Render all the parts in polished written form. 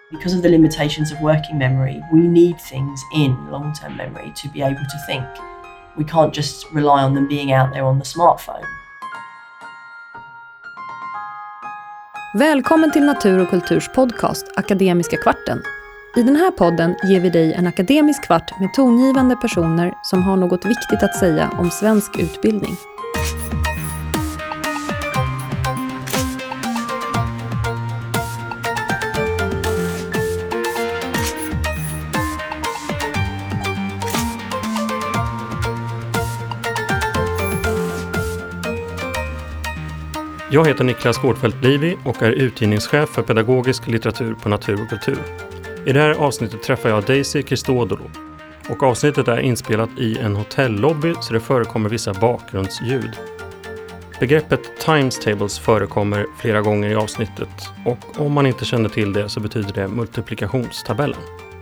Because of the limitations of working memory, we need things in long-term memory to be able to think. We can't just rely on them being out there on the smartphone. Välkommen till Natur och kulturs podcast Akademiska kvarten. I den här podden ger vi dig en akademisk kvart med tongivande personer som har något viktigt att säga om svensk utbildning. Jag heter Niklas Gårdfeldt-Livi och är utgivningschef för pedagogisk litteratur på Natur och kultur. I det här avsnittet träffar jag Daisy Christodoulou och avsnittet är inspelat i en hotellobby så det förekommer vissa bakgrundsljud. Begreppet times tables förekommer flera gånger i avsnittet och om man inte känner till det så betyder det multiplikationstabellen.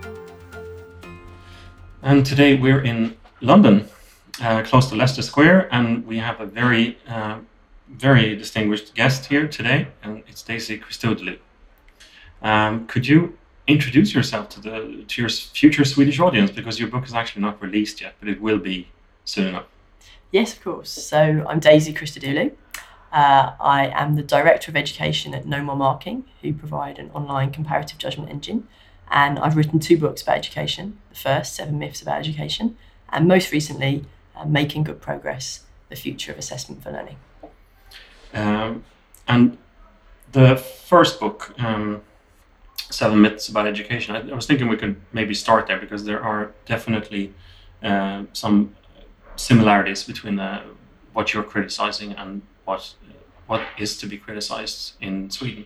And today we're in London, close to Leicester Square, and we have a very distinguished guest here today, and it's Daisy Christodoulou. Could you introduce yourself to your future Swedish audience, because your book is actually not released yet, but it will be soon enough? Yes, of course. So I'm Daisy Christodoulou. I am the Director of Education at No More Marking, who provide an online comparative judgment engine, and I've written 2 books about education. The first, 7 Myths About Education, and most recently, Making Good Progress, The Future of Assessment for Learning. And the first book, 7 Myths About Education, I was thinking we could maybe start there because there are definitely some similarities between what you're criticizing and what is to be criticized in Sweden.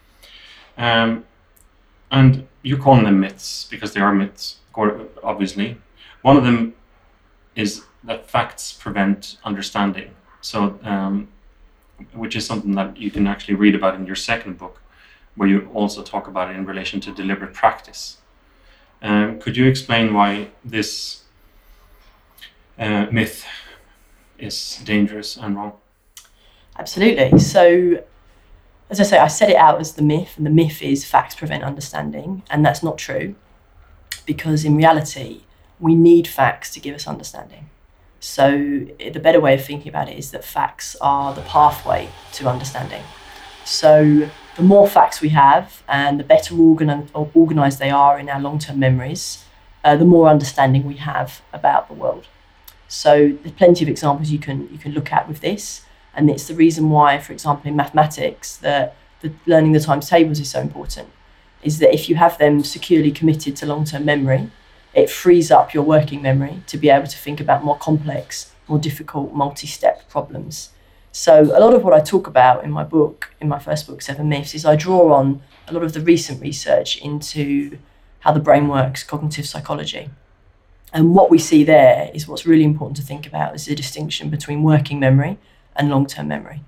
And you're calling them myths because they are myths, obviously. One of them is that facts prevent understanding. So which is something that you can actually read about in your second book, where you also talk about it in relation to deliberate practice. Could you explain why this myth is dangerous and wrong? Absolutely. So, as I say, I set it out as the myth, and the myth is facts prevent understanding, and that's not true, because in reality, we need facts to give us understanding. So the better way of thinking about it is that facts are the pathway to understanding. So the more facts we have and the better organised they are in our long-term memories, the more understanding we have about the world. So there's plenty of examples you can look at with this, and it's the reason why, for example, in mathematics, the learning the times tables is so important, is that if you have them securely committed to long-term memory, it frees up your working memory to be able to think about more complex, more difficult, multi-step problems. So a lot of what I talk about in my book, in my first book, 7 Myths, is I draw on a lot of the recent research into how the brain works, cognitive psychology. And what we see there is what's really important to think about is the distinction between working memory and long-term memory.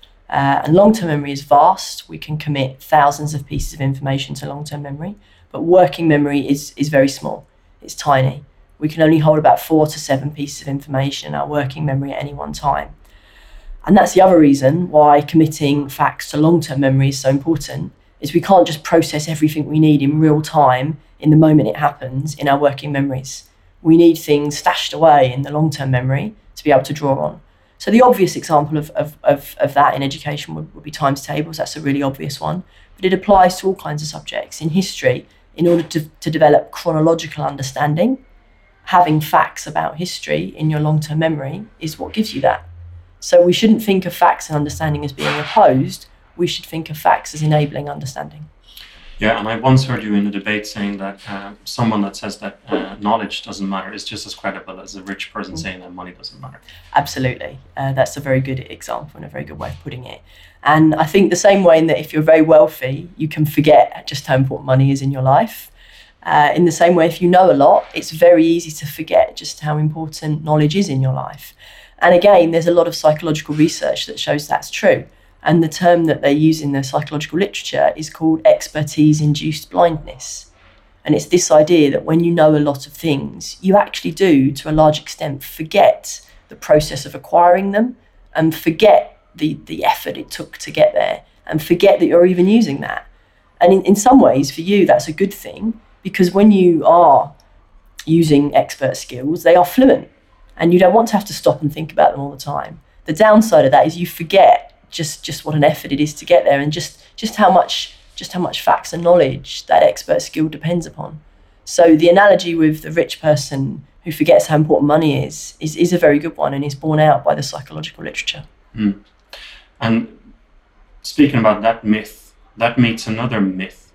And long-term memory is vast. We can commit thousands of pieces of information to long-term memory, but working memory is very small. It's tiny. We can only hold about 4 to 7 pieces of information in our working memory at any one time. And that's the other reason why committing facts to long-term memory is so important, is we can't just process everything we need in real time in the moment it happens in our working memories. We need things stashed away in the long-term memory to be able to draw on. So the obvious example of that in education would be times tables. That's a really obvious one. But it applies to all kinds of subjects. In history, in order to develop chronological understanding, having facts about history in your long-term memory is what gives you that. So we shouldn't think of facts and understanding as being opposed. We should think of facts as enabling understanding. Yeah, and I once heard you in a debate saying that someone that says that knowledge doesn't matter is just as credible as a rich person saying that money doesn't matter. Absolutely. That's a very good example and a very good way of putting it. And I think the same way in that if you're very wealthy, you can forget just how important money is in your life. In the same way, if you know a lot, it's very easy to forget just how important knowledge is in your life. And again, there's a lot of psychological research that shows that's true. And the term that they use in the psychological literature is called expertise-induced blindness. And it's this idea that when you know a lot of things, you actually do, to a large extent, forget the process of acquiring them and forget the effort it took to get there and forget that you're even using that. And in some ways, for you, that's a good thing, because when you are using expert skills, they are fluent, and you don't want to have to stop and think about them all the time. The downside of that is you forget just what an effort it is to get there, and just how much facts and knowledge that expert skill depends upon. So the analogy with the rich person who forgets how important money is a very good one, and is borne out by the psychological literature. And speaking about that myth, that meets another myth.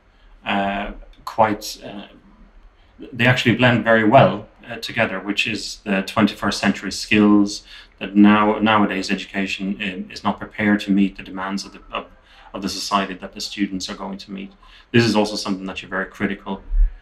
They actually blend very well together, which is the 21st century skills, that nowadays education is not prepared to meet the demands of the society that the students are going to meet. This is also something that you're very critical.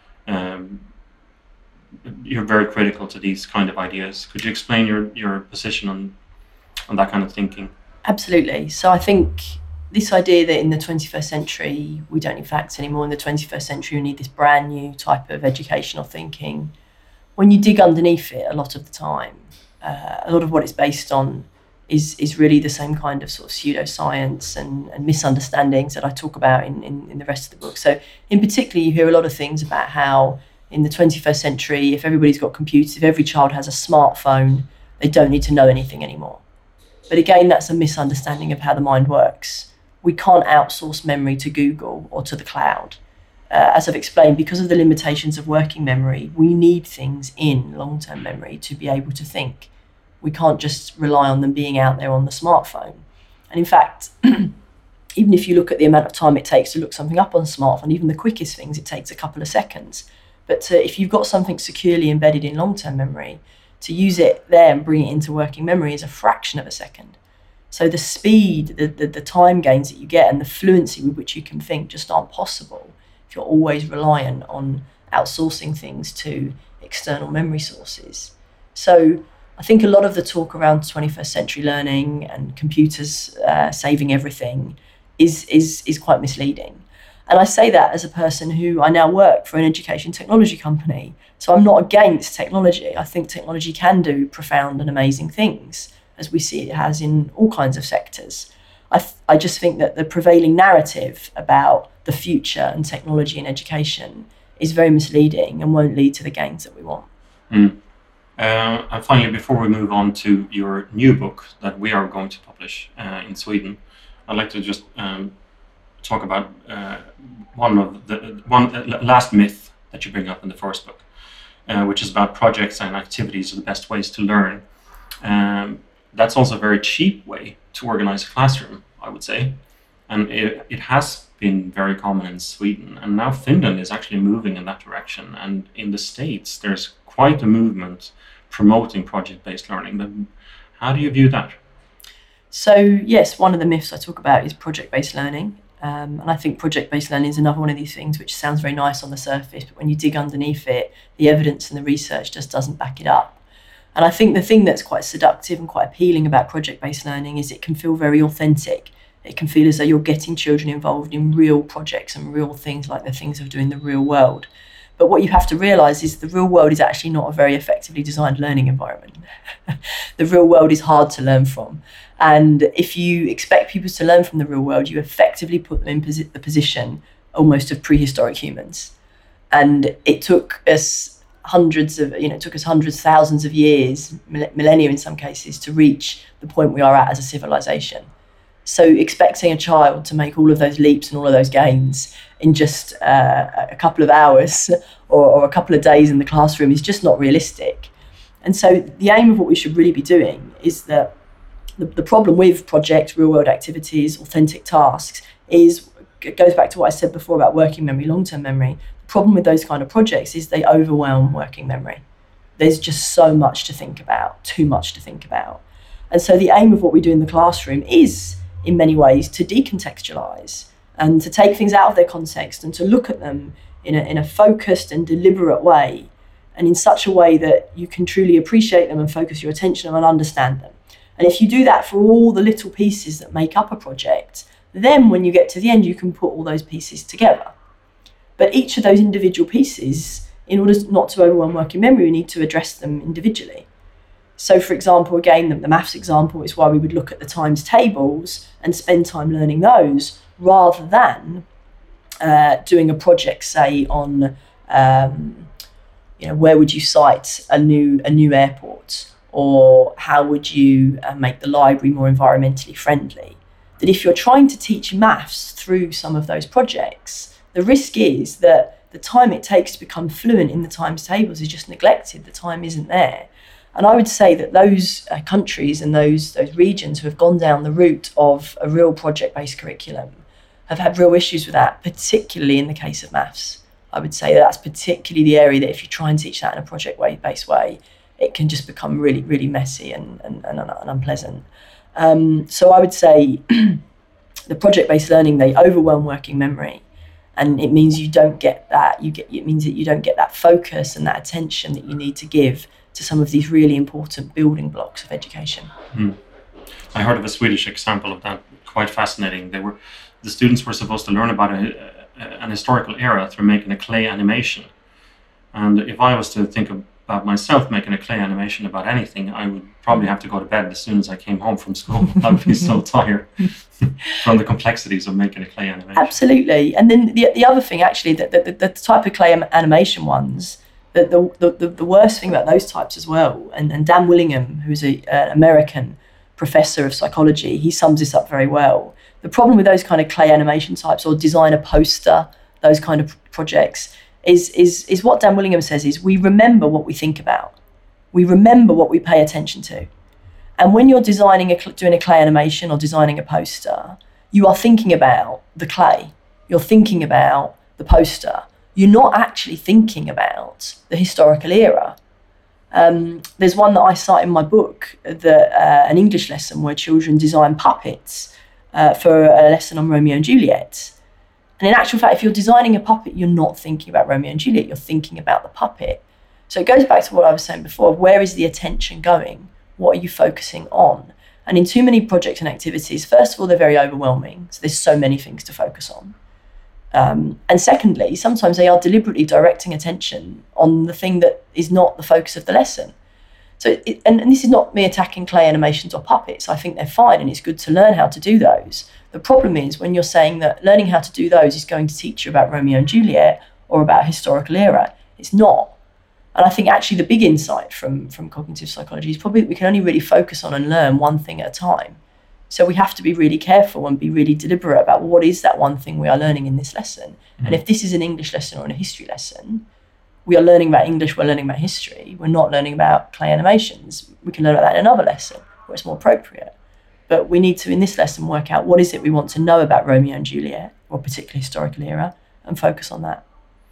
You're very critical to these kind of ideas. Could you explain your position on that kind of thinking? Absolutely. So I think this idea that in the 21st century we don't need facts anymore, in the 21st century we need this brand new type of educational thinking, when you dig underneath it, a lot of the time, a lot of what it's based on is really the same kind of sort of pseudoscience and misunderstandings that I talk about in the rest of the book. So in particular, you hear a lot of things about how in the 21st century, if everybody's got computers, if every child has a smartphone, they don't need to know anything anymore. But again, that's a misunderstanding of how the mind works. We can't outsource memory to Google or to the cloud. As I've explained, because of the limitations of working memory, we need things in long-term memory to be able to think. We can't just rely on them being out there on the smartphone. And in fact, even if you look at the amount of time it takes to look something up on a smartphone, even the quickest things, it takes a couple of seconds. But if you've got something securely embedded in long-term memory, to use it there and bring it into working memory is a fraction of a second. So the speed, the time gains that you get and the fluency with which you can think just aren't possible if you're always reliant on outsourcing things to external memory sources. So I think a lot of the talk around 21st century learning and computers saving everything is quite misleading. And I say that as a person who I now work for an education technology company. So I'm not against technology. I think technology can do profound and amazing things, as we see it has in all kinds of sectors. I just think that the prevailing narrative about the future and technology in education is very misleading and won't lead to the gains that we want. And finally, before we move on to your new book that we are going to publish in Sweden, I'd like to just talk about one last myth that you bring up in the first book, which is about projects and activities are the best ways to learn. That's also a very cheap way to organize a classroom, I would say. And it has been very common in Sweden. And now Finland is actually moving in that direction. And in the States, there's quite a movement promoting project-based learning. But how do you view that? So, yes, one of the myths I talk about is project-based learning. And I think project-based learning is another one of these things which sounds very nice on the surface, but when you dig underneath it, the evidence and the research just doesn't back it up. And I think the thing that's quite seductive and quite appealing about project-based learning is it can feel very authentic. It can feel as though you're getting children involved in real projects and real things like the things of doing the real world. But what you have to realise is the real world is actually not a very effectively designed learning environment. The real world is hard to learn from. And if you expect people to learn from the real world, you effectively put them in the position almost of prehistoric humans. And it took us hundreds, thousands of years, millennia in some cases, to reach the point we are at as a civilization. So expecting a child to make all of those leaps and all of those gains in just a couple of hours or a couple of days in the classroom is just not realistic. And so the aim of what we should really be doing is that the problem with projects, real-world activities, authentic tasks it goes back to what I said before about working memory, long-term memory. The problem with those kind of projects is they overwhelm working memory. There's just so much to think about, too much to think about. And so the aim of what we do in the classroom is, in many ways, to decontextualise and to take things out of their context and to look at them in a focused and deliberate way, and in such a way that you can truly appreciate them and focus your attention and understand them. And if you do that for all the little pieces that make up a project, then when you get to the end, you can put all those pieces together. But each of those individual pieces, in order not to overwhelm working memory, we need to address them individually. So, for example, again, the maths example is why we would look at the times tables and spend time learning those rather than doing a project, say on, where would you site a new airport, or how would you make the library more environmentally friendly, that if you're trying to teach maths through some of those projects, the risk is that the time it takes to become fluent in the times tables is just neglected. The time isn't there. And I would say that those countries and those regions who have gone down the route of a real project-based curriculum have had real issues with that, particularly in the case of maths. I would say that's particularly the area that if you try and teach that in a project-based way, it can just become really, really messy and unpleasant. So I would say the project-based learning, they overwhelm working memory, and it means you don't get that. It means that you don't get that focus and that attention that you need to give to some of these really important building blocks of education. I heard of a Swedish example of that, quite fascinating. The students were supposed to learn about an historical era through making a clay animation. And if I was to think about myself making a clay animation about anything, I would probably have to go to bed as soon as I came home from school. I would be so tired from the complexities of making a clay animation. Absolutely. And then the other thing, actually, that the type of clay animation ones, the worst thing about those types as well, and Dan Willingham, who's an American professor of psychology, he sums this up very well. The problem with those kind of clay animation types, or design a poster, those kind of projects, is what Dan Willingham says is we remember what we think about. We remember what we pay attention to. And when you're doing a clay animation or designing a poster, you are thinking about the clay. You're thinking about the poster. You're not actually thinking about the historical era. There's one that I cite in my book, an English lesson where children design puppets for a lesson on Romeo and Juliet. And in actual fact, if you're designing a puppet, you're not thinking about Romeo and Juliet, you're thinking about the puppet. So it goes back to what I was saying before, where is the attention going? What are you focusing on? And in too many projects and activities, first of all, they're very overwhelming. So there's so many things to focus on. And secondly, sometimes they are deliberately directing attention on the thing that is not the focus of the lesson. So, and this is not me attacking clay animations or puppets. I think they're fine, and it's good to learn how to do those. The problem is when you're saying that learning how to do those is going to teach you about Romeo and Juliet or about a historical era. It's not. And I think actually the big insight from cognitive psychology is probably that we can only really focus on and learn one thing at a time. So we have to be really careful and be really deliberate about what is that one thing we are learning in this lesson. Mm-hmm. And if this is an English lesson or a history lesson, we are learning about English, we're learning about history, we're not learning about clay animations. We can learn about that in another lesson where it's more appropriate. But we need to, in this lesson, work out what is it we want to know about Romeo and Juliet, or a particular historical era, and focus on that.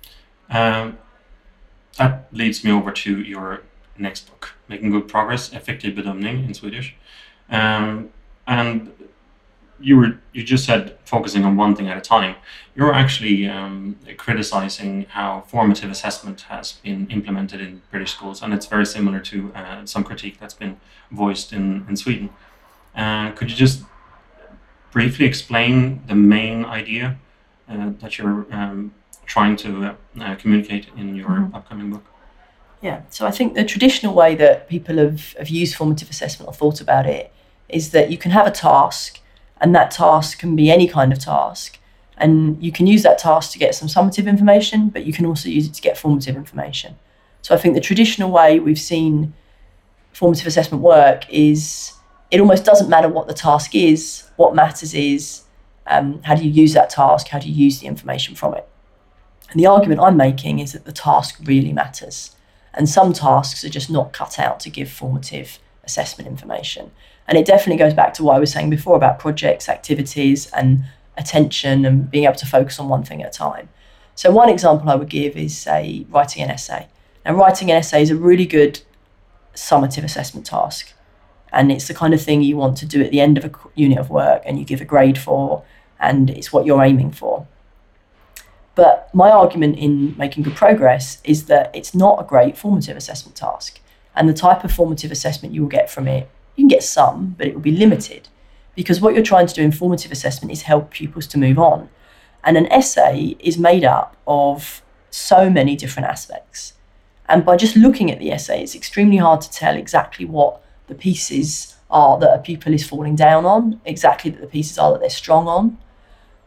That leads me over to your next book, Making Good Progress, Effektiv bedömning in Swedish. And you just said focusing on one thing at a time. You're actually criticizing how formative assessment has been implemented in British schools, and it's very similar to some critique that's been voiced in Sweden. Could you just briefly explain the main idea that you're trying to communicate in your upcoming book? Yeah, so I think the traditional way that people have used formative assessment or thought about it is that you can have a task, and that task can be any kind of task, and you can use that task to get some summative information, but you can also use it to get formative information. So I think the traditional way we've seen formative assessment work is it almost doesn't matter what the task is. What matters is how do you use that task, how do you use the information from it. And the argument I'm making is that the task really matters, and some tasks are just not cut out to give formative assessment information. And it definitely goes back to what I was saying before about projects, activities, and attention, and being able to focus on one thing at a time. So one example I would give is, say, writing an essay. Now, writing an essay is a really good summative assessment task, and it's the kind of thing you want to do at the end of a unit of work and you give a grade for, and it's what you're aiming for. But my argument in Making Good Progress is that it's not a great formative assessment task, and the type of formative assessment you will get from it, you can get some, but it will be limited, because what you're trying to do in formative assessment is help pupils to move on. And an essay is made up of so many different aspects. And by just looking at the essay, it's extremely hard to tell exactly what the pieces are that a pupil is falling down on, exactly that the pieces are that they're strong on.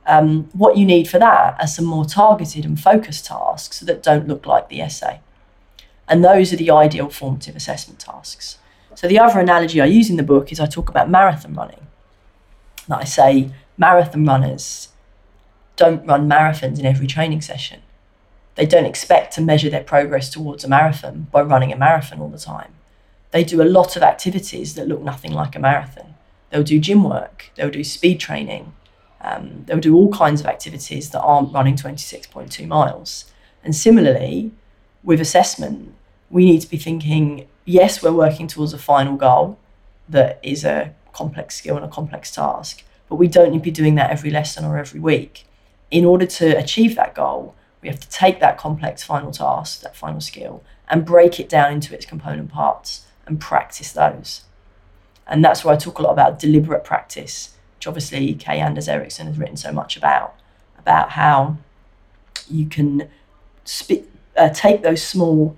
What you need for that are some more targeted and focused tasks that don't look like the essay. And those are the ideal formative assessment tasks. So the other analogy I use in the book is I talk about marathon running. That I say marathon runners don't run marathons in every training session. They don't expect to measure their progress towards a marathon by running a marathon all the time. They do a lot of activities that look nothing like a marathon. They'll do gym work, they'll do speed training, they'll do all kinds of activities that aren't running 26.2 miles. And similarly, with assessment, we need to be thinking, yes, we're working towards a final goal that is a complex skill and a complex task, but we don't need to be doing that every lesson or every week. In order to achieve that goal, we have to take that complex final task, that final skill, and break it down into its component parts and practice those. And that's where I talk a lot about deliberate practice, which obviously Kay Anders Ericsson has written so much about how you can take those small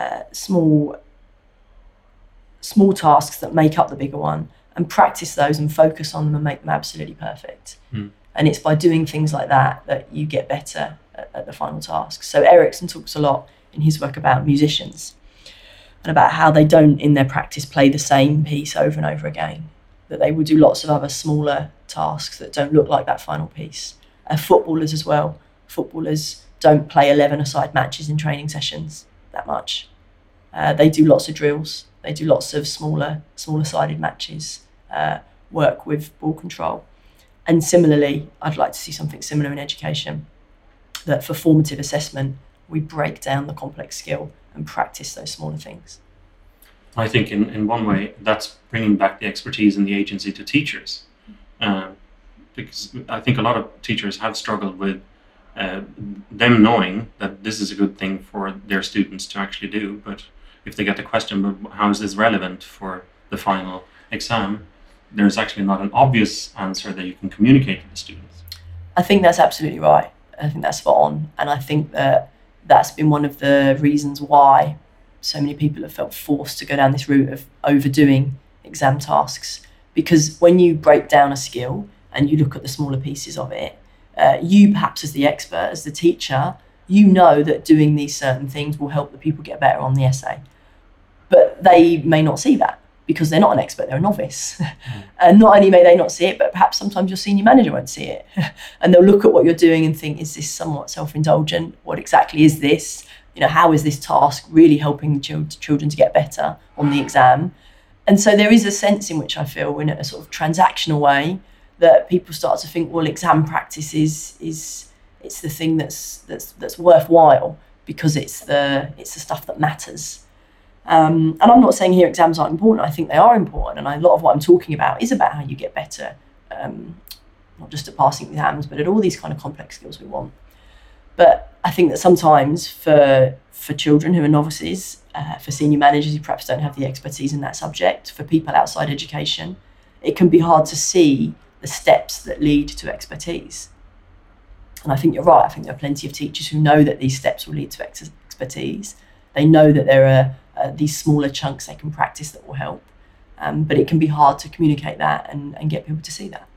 tasks that make up the bigger one and practice those and focus on them and make them absolutely perfect. And it's by doing things like that you get better at the final task. So Ericsson talks a lot in his work about musicians and about how they don't in their practice play the same piece over and over again, that they will do lots of other smaller tasks that don't look like that final piece. Footballers as well. Footballers don't play 11-a-side matches in training sessions that much. They do lots of drills. They do lots of smaller-sided matches, work with ball control. And similarly, I'd like to see something similar in education, that for formative assessment, we break down the complex skill and practice those smaller things. I think in one way, that's bringing back the expertise and the agency to teachers. Because I think a lot of teachers have struggled with them knowing that this is a good thing for their students to actually do. But if they get the question, but how is this relevant for the final exam? There's actually not an obvious answer that you can communicate to the students. I think that's absolutely right. I think that's spot on. And I think that's been one of the reasons why so many people have felt forced to go down this route of overdoing exam tasks. Because when you break down a skill and you look at the smaller pieces of it, you perhaps as the expert, as the teacher, you know that doing these certain things will help the people get better on the essay. But they may not see that, because they're not an expert, they're a novice. And not only may they not see it, but perhaps sometimes your senior manager won't see it. And they'll look at what you're doing and think, is this somewhat self-indulgent? What exactly is this? How is this task really helping children to get better on the exam? And so there is a sense in which I feel, in a sort of transactional way, that people start to think, well, exam practice is the thing that's worthwhile because it's the stuff that matters. And I'm not saying here exams aren't important. I think they are important, and a lot of what I'm talking about is about how you get better, not just at passing exams, but at all these kind of complex skills we want. But I think that sometimes for children who are novices, for senior managers who perhaps don't have the expertise in that subject, for people outside education, it can be hard to see the steps that lead to expertise. And I think you're right. I think there are plenty of teachers who know that these steps will lead to expertise. They know that there are these smaller chunks they can practice that will help. But it can be hard to communicate that and get people to see that.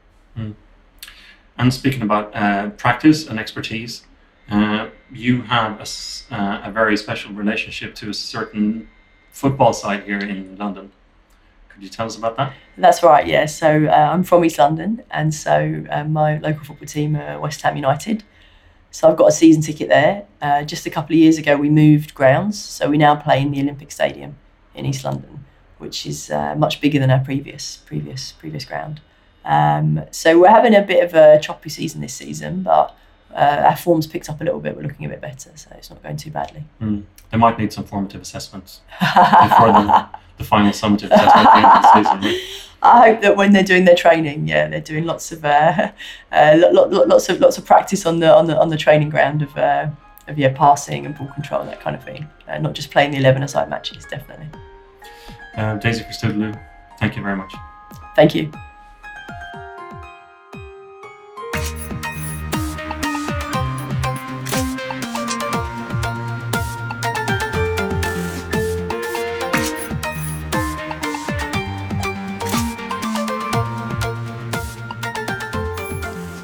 And speaking about practice and expertise, you have a very special relationship to a certain football side here in London. Could you tell us about that? That's right, yeah. So I'm from East London, and so my local football team are West Ham United. So I've got a season ticket there. Just a couple of years ago, we moved grounds, so we now play in the Olympic Stadium in East London, which is much bigger than our previous ground. So we're having a bit of a choppy season this season, but our form's picked up a little bit. We're looking a bit better, so it's not going too badly. They might need some formative assessments before the final summative assessment at the end of the season. Right? I hope that when they're doing their training, they're doing lots of practice on the training ground of passing and ball control, that kind of thing. Not just playing the 11-a-side matches, definitely. Daisy Christodoulou, thank you very much. Thank you.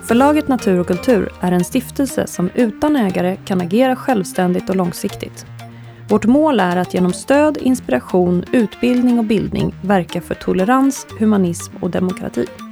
Förlaget Natur och kultur är en stiftelse som utan ägare kan agera självständigt och långsiktigt. Vårt mål är att genom stöd, inspiration, utbildning och bildning verka för tolerans, humanism och demokrati.